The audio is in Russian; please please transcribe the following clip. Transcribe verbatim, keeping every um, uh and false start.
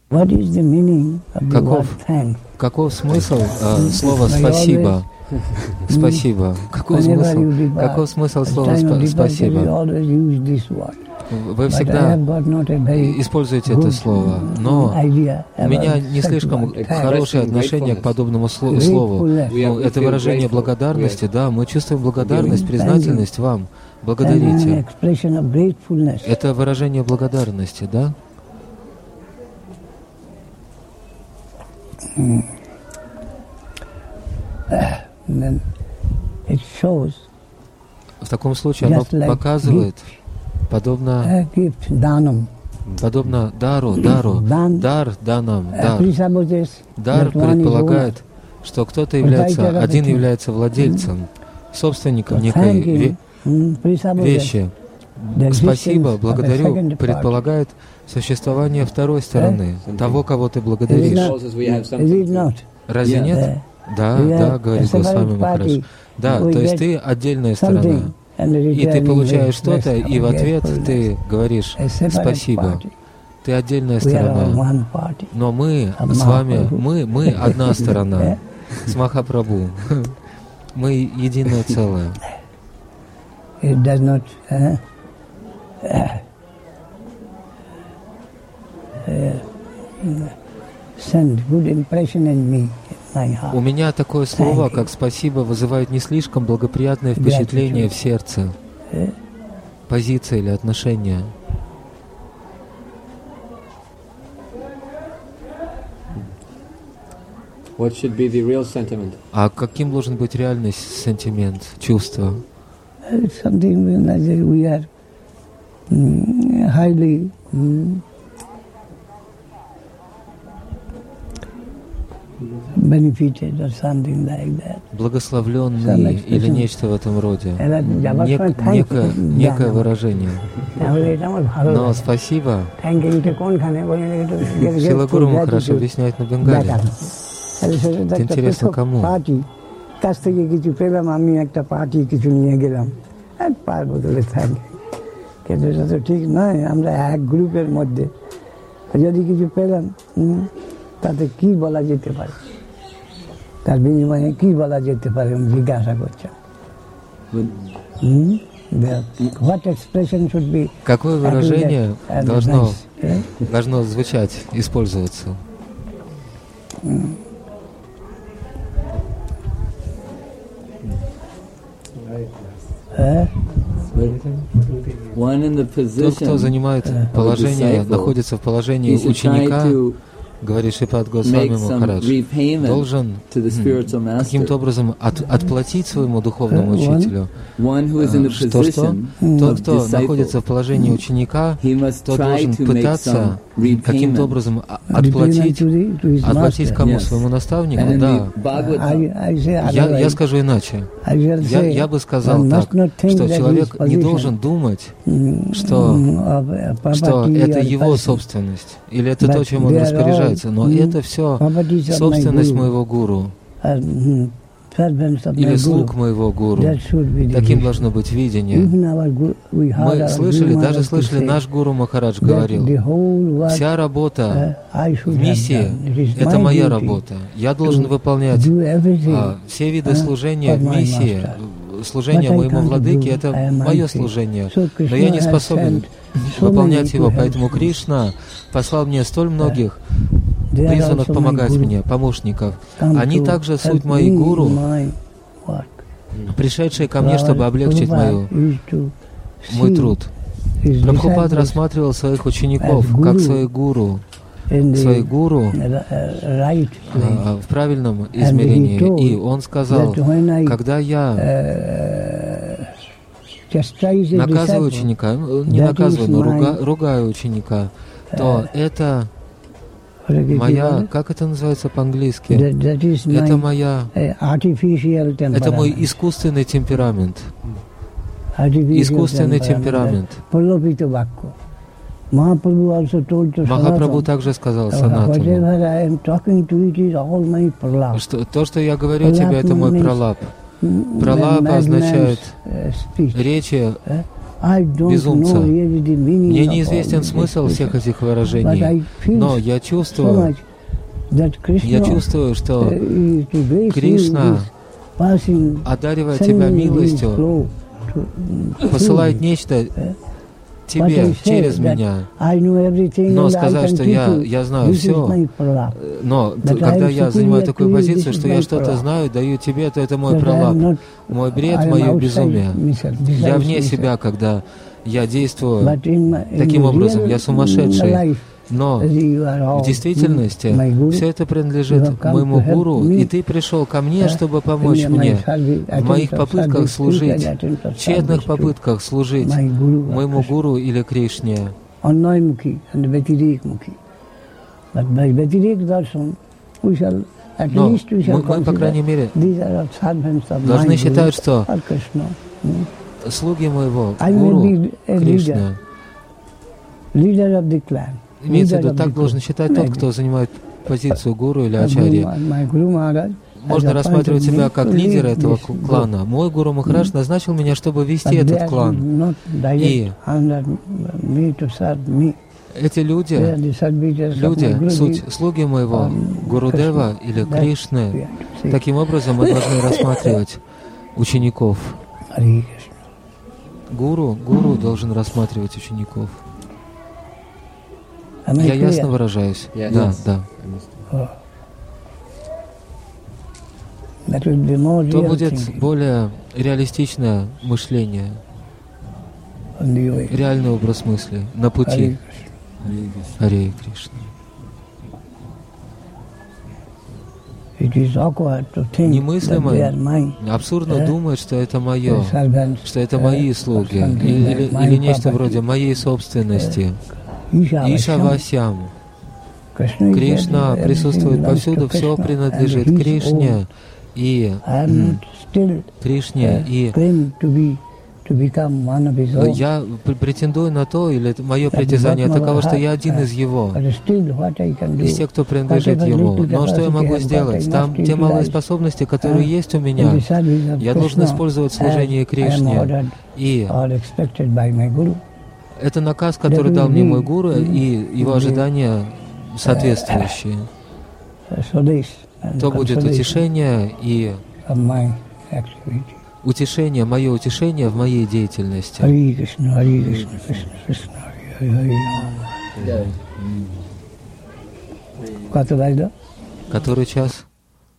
Каков, каков смысл э, слова «спасибо»? Спасибо. Каков смысл, каков смысл слова спа- «спасибо»? Вы всегда используете это слово, но у меня не слишком хорошее отношение к подобному сло- слову. Ну, это выражение благодарности, да, мы чувствуем благодарность, признательность вам. Благодарите. Это выражение благодарности, да? В таком случае оно показывает, подобно, подобно дару, дару, дар данам, дар. Дар предполагает, что кто-то является, один является владельцем, собственником некой ве- вещи. Спасибо, благодарю, предполагает существование второй стороны, того, кого ты благодаришь. Разве нет? Да, да, говорит Госвами Махарадж. Да, то есть ты отдельная сторона, и ты получаешь что-то, и в ответ ты говоришь «спасибо». Ты отдельная сторона. Но мы с вами, мы, мы одна сторона с Махапрабху. Мы единое целое. У меня такое слово, как «спасибо», вызывает не слишком благоприятное впечатление в сердце, позиция или отношение. What should be the real sentiment? А каким должен быть реальный сентимент, чувство? Something like we are highly benefited or something like that. Благословленный или нечто в этом роде. Нек, некое, некое выражение. Но спасибо. Шрила Гуру Махарадж объясняет на Бенгале. Это интересно кому? কাছ থেকে কিছু পেলাম, আমি একটা পার্টি কিছু নিয়ে গেলাম, এক পার বদলে থাকে, কিন্তু এটা তো ঠিক নয়। আমরা এক গ্রুপের মধ্যে যদি কিছু পেলাম, তাতে কি বলা যেতে পারে, তার বিনিময়ে কি বলা যেতে পারে, আমি জিজ্ঞাসা করছেন। What expression should be? Какое выражение должно, должно звучать, использоваться? Тот, кто занимает положение, находится в положении ученика, говорит Шрипад Госвами Махарадж, должен каким-то образом от, отплатить своему духовному учителю. Что, что? Тот, кто находится в положении ученика, тот должен пытаться каким-то образом отплатить, отплатить кому? Своему наставнику? Да. Я, я скажу иначе. Я, я бы сказал так, что человек не должен думать, что, что это его собственность, или это то, чем он распоряжается, но это все собственность моего гуру или слуг моего гуру. Таким должно быть видение. Мы слышали, даже слышали, наш гуру Махарадж говорил, вся работа в миссии — это моя работа. Я должен выполнять а, все виды служения в миссии. Служение моему владыке — это мое служение, но я не способен выполнять его, поэтому Кришна послал мне столь многих призванных помогать мне, помощников. Они также суть мои гуру, пришедшие ко мне, чтобы облегчить мою, мой труд. Прабхупад рассматривал своих учеников как своих гуру, своих гуру а, в правильном измерении. И он сказал, когда я наказываю ученика, не наказываю, но руга, ругаю ученика, то это моя, как это называется по-английски? Это моя, это мой искусственный темперамент. Искусственный темперамент. Махапрабху также сказал Санатану, что то, что я говорю тебе, это мой пралап. Пралапа означает речи безумца. Мне неизвестен смысл всех этих выражений, но я чувствую, я чувствую, что Кришна одаривает тебя милостью, посылает нечто тебе через меня. Но сказать, что я, я знаю все, но когда я занимаю такую позицию, что я что-то знаю, даю тебе, то это мой пролаб, мой бред, мое безумие. Я вне себя, когда я действую таким образом, я сумасшедший. Но в действительности все это принадлежит моему гуру, и ты пришел ко мне, чтобы помочь мне в моих попытках служить, тщетных попытках служить моему гуру или Кришне. Но мы, мы, по крайней мере, должны считать, что слуги моего гуру Кришны, имеется в виду, так должен считать тот, кто занимает позицию гуру или ачарьи. Можно рассматривать себя как лидера этого клана. Мой гуру Махарадж назначил меня, чтобы вести этот клан. И эти люди, люди, суть слуги моего Гурудева или Кришны, таким образом мы должны рассматривать учеников. Гуру, гуру должен рассматривать учеников. Я ясно выражаюсь? Yes. Да, да. То будет более реалистичное мышление, реальный образ мысли на пути. Харе Кришна. Немыслимо, абсурдно думать, что это мое, что это мои слуги, или, или нечто вроде моей собственности. Ишавасям. Кришна присутствует повсюду, все принадлежит Кришне и Кришне, и я претендую на то, или мое притязание таково, что я один из Его, из тех, кто принадлежит Ему. Но что я могу сделать? Там те малые способности, которые есть у меня, я должен использовать служение Кришне. И это наказ, который дал мне мой гуру, и его ожидания соответствующие. То будет утешение и утешение, мое утешение в моей деятельности. Который час?